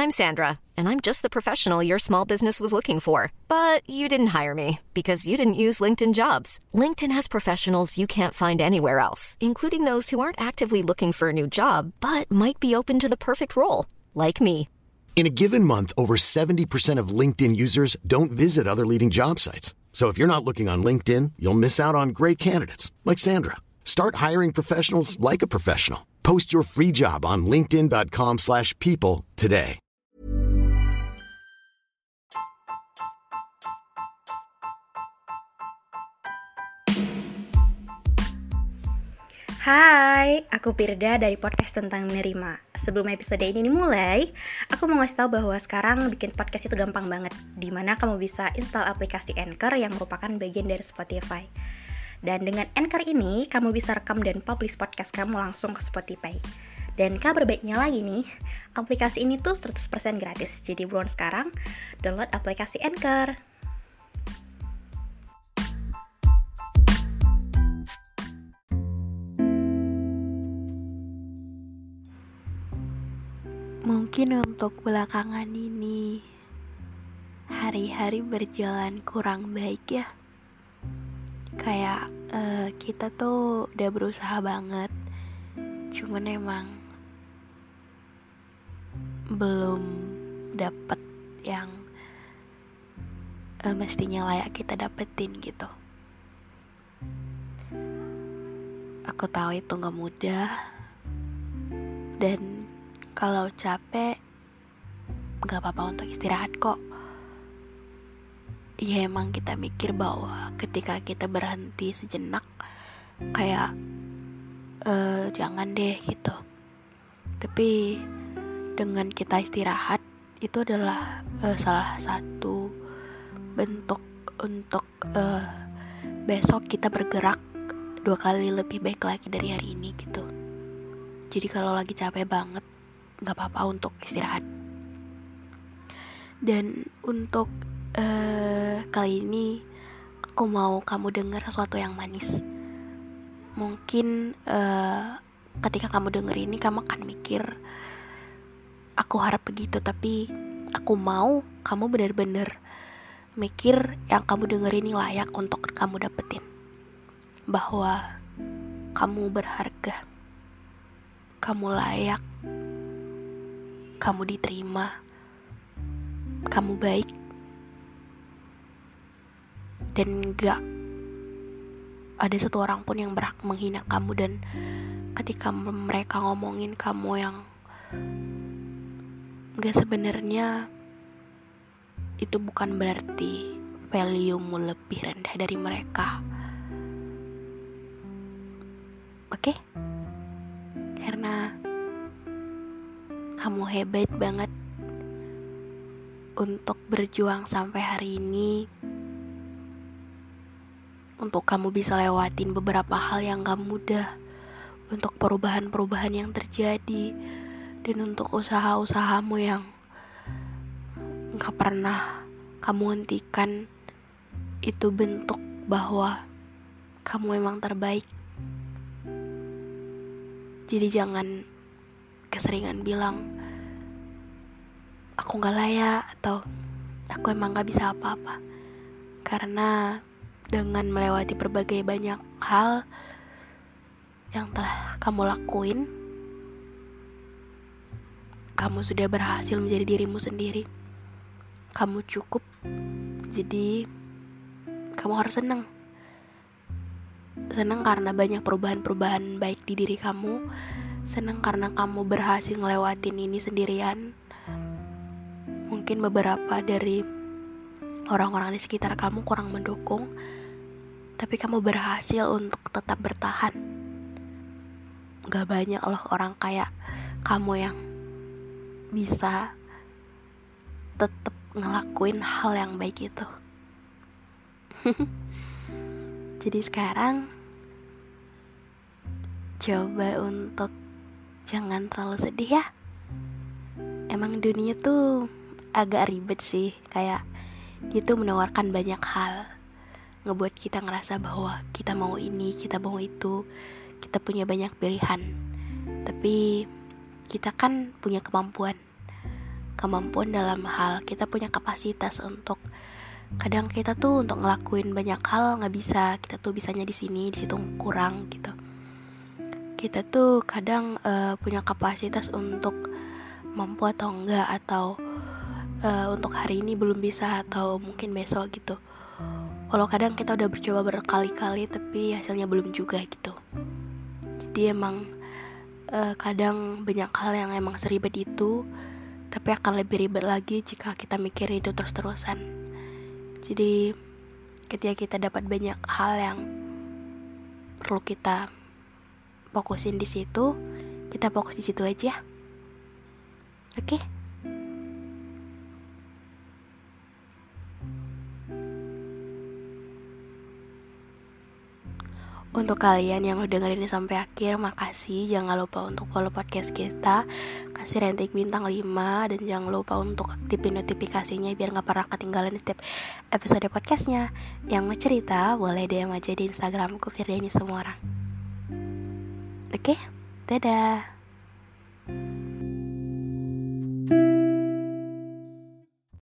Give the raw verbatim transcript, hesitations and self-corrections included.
I'm Sandra, and I'm just the professional your small business was looking for. But you didn't hire me because you didn't use LinkedIn Jobs. LinkedIn has professionals you can't find anywhere else, including those who aren't actively looking for a new job, but might be open to the perfect role, like me. In a given month, over seventy percent of LinkedIn users don't visit other leading job sites. So if you're not looking on LinkedIn, you'll miss out on great candidates, like Sandra. Start hiring professionals like a professional. Post your free job on linkedin.com slash people today. Hai, aku Pirda dari podcast tentang menerima. Sebelum episode ini dimulai, aku mau ngasih tahu bahwa sekarang bikin podcast itu gampang banget, dimana kamu bisa install aplikasi Anchor yang merupakan bagian dari Spotify. Dan dengan Anchor ini, kamu bisa rekam dan publish podcast kamu langsung ke Spotify. Dan kabar baiknya lagi nih, aplikasi ini tuh seratus persen gratis. Jadi buruan sekarang, download aplikasi Anchor. Mungkin untuk belakangan ini hari-hari berjalan kurang baik ya. Kayak uh, kita tuh udah berusaha banget, cuman emang belum dapet yang uh, mestinya layak kita dapetin gitu. Aku tahu itu gak mudah, dan kalau capek, gak apa-apa untuk istirahat kok. Ya emang kita mikir bahwa ketika kita berhenti sejenak, kayak uh, jangan deh gitu. Tapi dengan kita istirahat, itu adalah uh, salah satu bentuk untuk uh, besok kita bergerak dua kali lebih baik lagi dari hari ini gitu. Jadi kalau lagi capek banget, gak apa-apa untuk istirahat. Dan untuk uh, kali ini aku mau kamu dengar sesuatu yang manis. Mungkin uh, ketika kamu denger ini kamu akan mikir, aku harap begitu, tapi aku mau kamu benar-benar mikir yang kamu denger ini layak untuk kamu dapetin. Bahwa kamu berharga, kamu layak, kamu diterima, kamu baik, dan gak ada satu orang pun yang berhak menghina kamu. Dan ketika mereka ngomongin kamu yang gak sebenarnya, itu bukan berarti value-mu lebih rendah dari mereka. Oke? Karena kamu hebat banget untuk berjuang sampai hari ini, untuk kamu bisa lewatin beberapa hal yang gak mudah, untuk perubahan-perubahan yang terjadi, dan untuk usaha-usahamu yang gak pernah kamu hentikan. Itu bentuk bahwa kamu memang terbaik. Jadi jangan keseringan bilang aku gak layak atau aku emang gak bisa apa-apa. Karena dengan melewati berbagai banyak hal yang telah kamu lakuin, kamu sudah berhasil menjadi dirimu sendiri. Kamu cukup. Jadi kamu harus senang. Senang karena banyak perubahan-perubahan baik di diri kamu. Senang karena kamu berhasil ngelewatin ini sendirian. Mungkin beberapa dari orang-orang di sekitar kamu kurang mendukung, tapi kamu berhasil untuk tetap bertahan. Gak banyak loh orang kayak kamu yang bisa tetap ngelakuin hal yang baik itu. Jadi sekarang coba untuk jangan terlalu sedih ya. Emang dunia tuh agak ribet sih, kayak gitu menawarkan banyak hal, ngebuat kita ngerasa bahwa kita mau ini, kita mau itu, kita punya banyak pilihan. Tapi kita kan punya kemampuan kemampuan dalam hal kita punya kapasitas untuk, kadang kita tuh untuk ngelakuin banyak hal nggak bisa, kita tuh bisanya di sini, di situ kurang gitu. Kita tuh kadang uh, punya kapasitas untuk mampu atau enggak, atau uh, untuk hari ini belum bisa atau mungkin besok gitu. Walau kadang kita udah bercoba berkali-kali tapi hasilnya belum juga gitu. Jadi emang uh, kadang banyak hal yang emang seribet itu, tapi akan lebih ribet lagi jika kita mikir itu terus-terusan. Jadi ketika kita dapat banyak hal yang perlu kita fokusin di situ, kita fokus di situ aja. Oke? Okay? Untuk kalian yang udah dengerin ini sampai akhir, makasih. Jangan lupa untuk follow podcast kita, kasih ranting bintang lima, dan jangan lupa untuk aktifin notifikasinya biar gak pernah ketinggalan setiap episode podcastnya. Yang mau cerita boleh D M aja di Instagramku Firdiani Semua Orang. Oke, dadah.